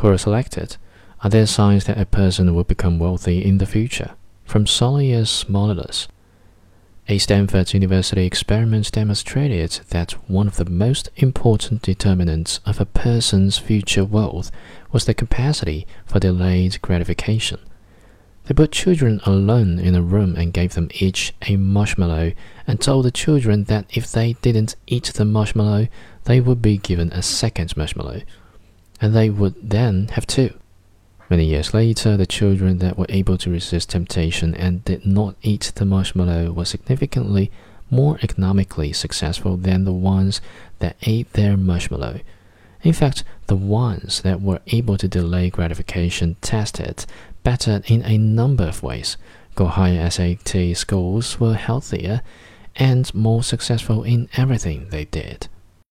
who are selected, are there signs that a person will become wealthy in the future? From Solius Molilus. A Stanford University experiment demonstrated that one of the most important determinants of a person's future wealth was the capacity for delayed gratification. They put children alone in a room and gave them each a marshmallow and told the children that if they didn't eat the marshmallow, they would be given a second marshmallow, and they would then have two. Many years later, the children that were able to resist temptation and did not eat the marshmallow were significantly more economically successful than the ones that ate their marshmallow. In fact, the ones that were able to delay gratification tested better in a number of ways, got higher SAT scores, were healthier, and more successful in everything they did.